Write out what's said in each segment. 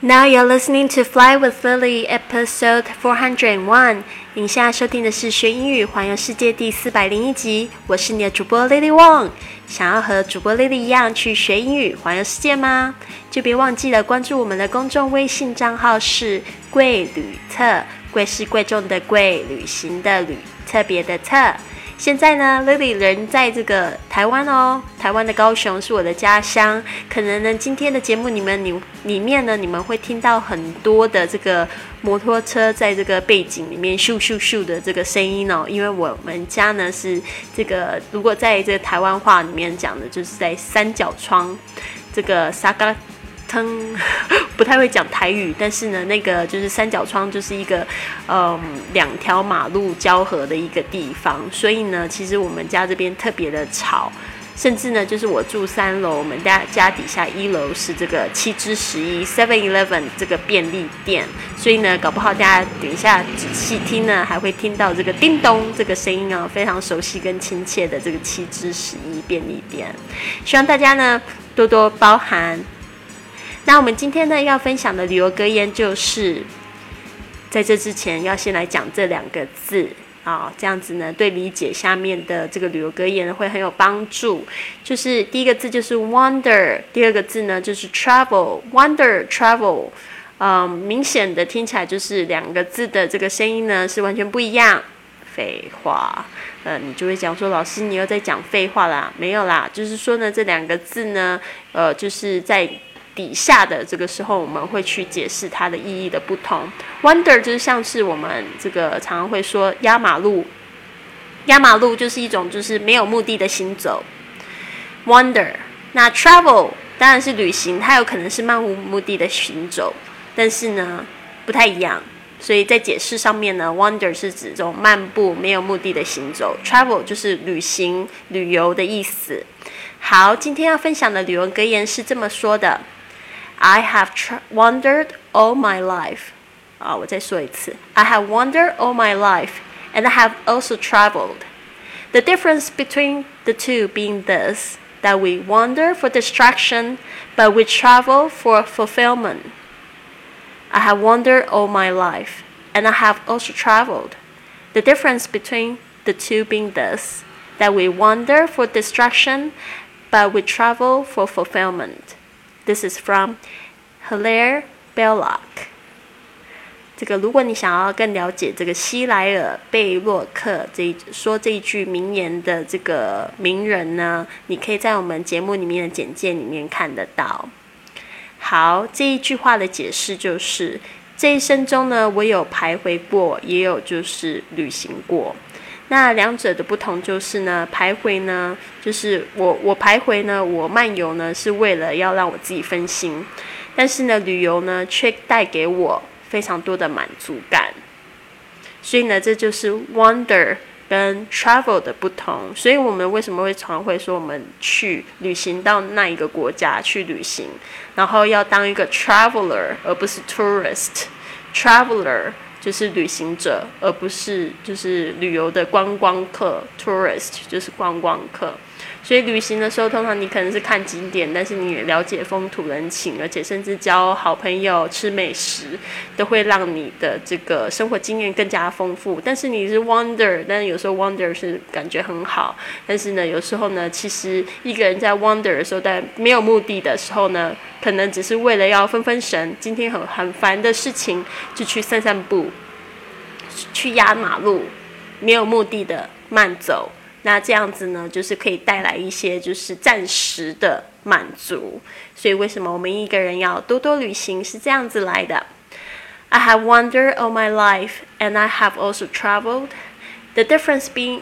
Now you're listening to Fly with Lily, episode 401. 您现在收听的是学英语环游世界第401集。我是你的主播 Lily Wong。想要和主播 Lily 一样去学英语环游世界吗？就别忘记了关注我们的公众微信账号是贵旅特，贵是贵重的贵，旅行的旅，特别的特。现在呢 Lily 人在这个台湾哦，台湾的高雄是我的家乡。可能呢今天的节目里面呢，你们会听到很多的这个摩托车在这个背景里面咻咻咻的这个声音哦，因为我们家呢是这个，如果在这个台湾话里面讲的，就是在三角窗这个沙嘎不太会讲台语，但是呢，那个就是三角窗，就是一个两条马路交合的一个地方，所以呢，其实我们家这边特别的吵，甚至呢，就是我住3楼，我们家底下1楼是这个7之11 7-Eleven 这个便利店，所以呢，搞不好大家等一下仔细听呢，还会听到这个叮咚这个声音哦，非常熟悉跟亲切的这个7之11便利店，希望大家呢多多包涵。那我们今天呢要分享的旅游格言就是，在这之前要先来讲这2个字啊，这样子呢对理解下面的这个旅游格言会很有帮助。就是第一个字就是 wonder， 第二个字呢就是 travel。wonder travel， 明显的听起来就是2个字的这个声音呢是完全不一样。废话，你就会讲说，老师你又在讲废话啦？没有啦，就是说呢这2个字呢，就是在底下的这个时候，我们会去解释它的意义的不同。Wander 就是像是我们这个常常会说压马路，压马路就是一种就是没有目的的行走。Wander， 那 travel 当然是旅行，它有可能是漫无目的的行走，但是呢不太一样。所以在解释上面呢 ，wander 是指这种漫步没有目的的行走 ，travel 就是旅行旅游的意思。好，今天要分享的旅游格言是这么说的。I have wandered all my life. 我再说一次。I have wandered all my life, and I have also traveled. The difference between the two being this, that we wander for distraction, but we travel for fulfillment. I have wandered all my life, and I have also traveled. The difference between the two being this, that we wander for distraction, but we travel for fulfillment.This is from Hilaire Belloc. 这个，如果你想要更了解这个希莱尔贝洛克说这一句名言的这个名人呢，你可以在我们节目里面的简介里面看得到。好，这一句话的解释就是，这一生中呢，我有徘徊过，也有就是旅行过。那2者的不同就是呢，徘徊呢，就是我徘徊呢，我漫游呢，是为了要让我自己分心，但是呢，旅游呢，却带给我非常多的满足感。所以呢，这就是 wander 跟 travel 的不同。所以我们为什么会常会说我们去旅行到那一个国家去旅行，然后要当一个 traveler 而不是 tourist。traveler就是旅行者，而不是就是旅游的观光客 tourist 就是观光客。所以旅行的时候，通常你可能是看景点，但是你也了解风土人情，而且甚至交好朋友、吃美食，都会让你的这个生活经验更加丰富。但是你是 wander， 但是有时候 wander 是感觉很好，但是呢，有时候呢，其实一个人在 wander 的时候，但没有目的的时候呢，可能只是为了要分神，今天很烦的事情，就去散散步，去压马路，没有目的的慢走。那这样子呢，就是可以带来一些就是暂时的满足。所以为什么我们一个人要多多旅行是这样子来的。I have wandered all my life, and I have also traveled. The difference between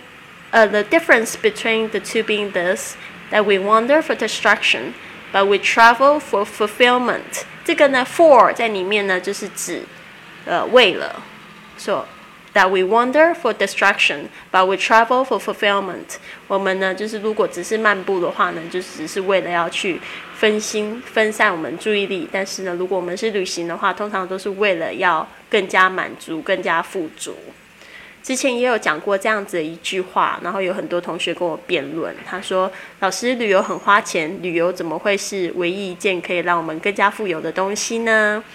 the two being this, that we wander for distraction, but we travel for fulfillment. 这个呢 for 在里面呢就是指为了that we wander for distraction, but we travel for fulfillment. 我们呢，就是如果只是漫步的话呢，就只是为了要去分散我们注意力。但是呢，如果我们是旅行的话，通常都是为了要更加满足、更加富足。之前也有讲过这样子的一句话，然后有很多同学跟我辩论，他说老师旅游很花钱，旅游怎么会是唯一一件可以让我们更加富有的东西呢？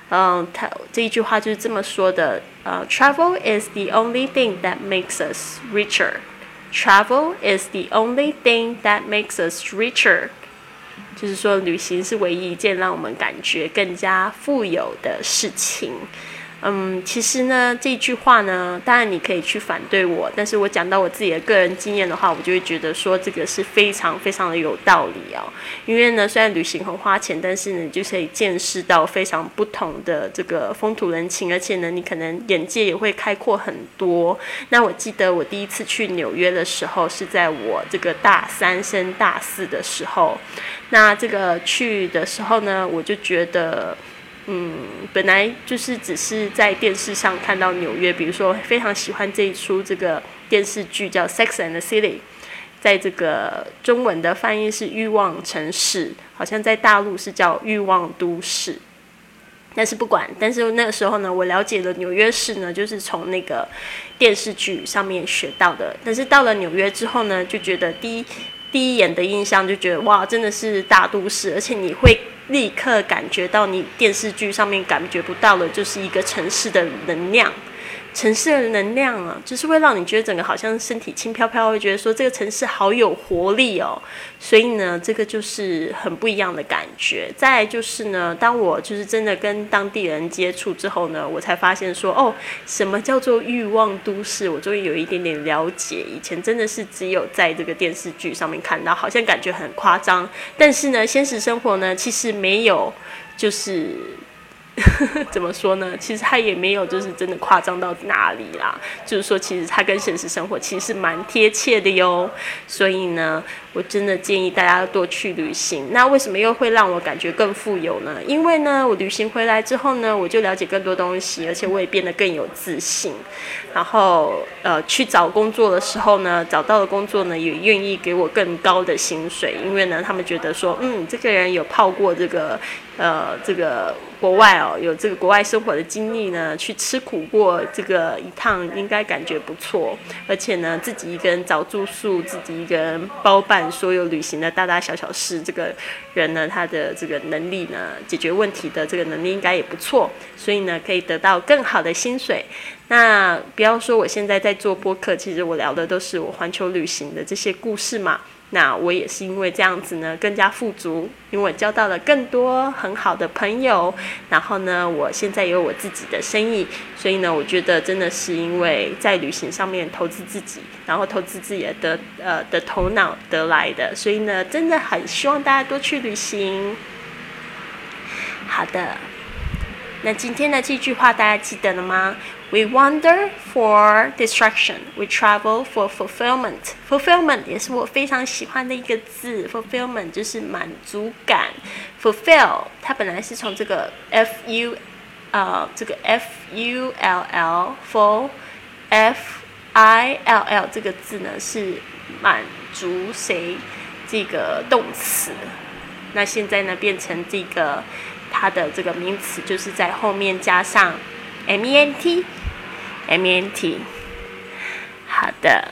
他这一句话就是这么说的，Travel is the only thing that makes us richer. Travel is the only thing that makes us richer. 就是说，旅行是唯一一件让我们感觉更加富有的事情。其实呢，这句话呢，当然你可以去反对我，但是我讲到我自己的个人经验的话，我就会觉得说这个是非常非常的有道理哦。因为呢，虽然旅行很花钱，但是呢，你就可以见识到非常不同的这个风土人情，而且呢，你可能眼界也会开阔很多。那我记得我第一次去纽约的时候，是在我这个大3升大4的时候。那这个去的时候呢，我就觉得。本来就是只是在电视上看到纽约，比如说非常喜欢这一出这个电视剧叫《Sex and the City》，在这个中文的翻译是欲望城市，好像在大陆是叫欲望都市。但是不管，但是那个时候呢，我了解了纽约市呢，就是从那个电视剧上面学到的。但是到了纽约之后呢，就觉得第一眼的印象就觉得哇，真的是大都市，而且你会立刻感觉到你电视剧上面感觉不到的，就是一个城市的能量。城市的能量啊，就是会让你觉得整个好像身体轻飘飘，会觉得说这个城市好有活力哦。所以呢，这个就是很不一样的感觉。再来就是呢，当我就是真的跟当地人接触之后呢，我才发现说，哦，什么叫做欲望都市？我终于有一点点了解。以前真的是只有在这个电视剧上面看到，好像感觉很夸张。但是呢，现实生活呢，其实没有，就是怎么说呢？其实它也没有就是真的夸张到哪里啦。就是说，其实它跟现实生活其实是蛮贴切的哟。所以呢，我真的建议大家多去旅行。那为什么又会让我感觉更富有呢？因为呢，我旅行回来之后呢，我就了解更多东西，而且我也变得更有自信。然后去找工作的时候呢，找到的工作呢也愿意给我更高的薪水，因为呢，他们觉得说，这个人有泡过这个国外哦，有这个国外生活的经历呢，去吃苦过这个一趟，应该感觉不错。而且呢，自己一个人找住宿，自己一个人包办所有旅行的大大小小事，这个人呢，他的这个能力呢，解决问题的这个能力应该也不错，所以呢，可以得到更好的薪水。那不要说我现在在做播客，其实我聊的都是我环球旅行的这些故事嘛。那我也是因为这样子呢，更加富足，因为我交到了更多很好的朋友，然后呢，我现在有我自己的生意，所以呢，我觉得真的是因为在旅行上面投资自己，然后投资自己的头脑得来的，所以呢，真的很希望大家多去旅行。好的，那今天的这句话大家记得了吗？We wander for distraction. We travel for fulfillment. Fulfillment 也是我非常喜欢的一个字。Fulfillment 就是满足感。Fulfill 它本来是从这个 full full fill 这个字呢是满足谁这个动词。那现在呢变成这个它的这个名词，就是在后面加上ment。好的。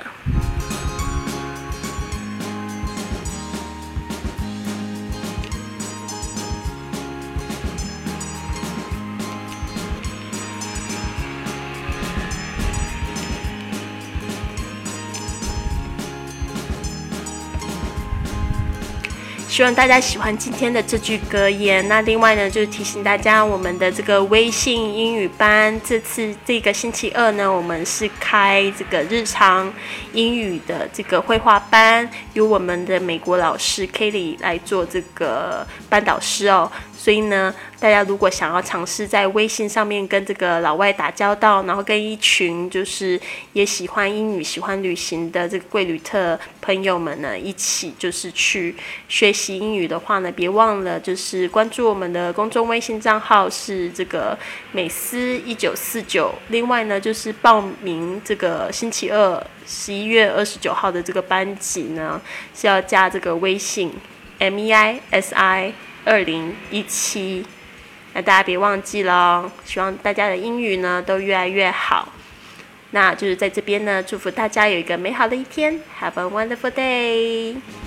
希望大家喜欢今天的这句格言。那另外呢，就是提醒大家，我们的这个微信英语班，这次这个星期二呢，我们是开这个日常英语的这个绘画班，由我们的美国老师 Kelly 来做这个班导师哦。所以呢，大家如果想要尝试在微信上面跟这个老外打交道，然后跟一群就是也喜欢英语、喜欢旅行的这个贵旅特朋友们呢，一起就是去学习英语的话呢，别忘了就是关注我们的公众微信账号是这个美思1949。另外呢，就是报名这个星期二11月29号的这个班级呢，是要加这个微信 MEISI2017，那大家别忘记了，希望大家的英语呢都越来越好。那就是在这边呢，祝福大家有一个美好的一天 ，Have a wonderful day。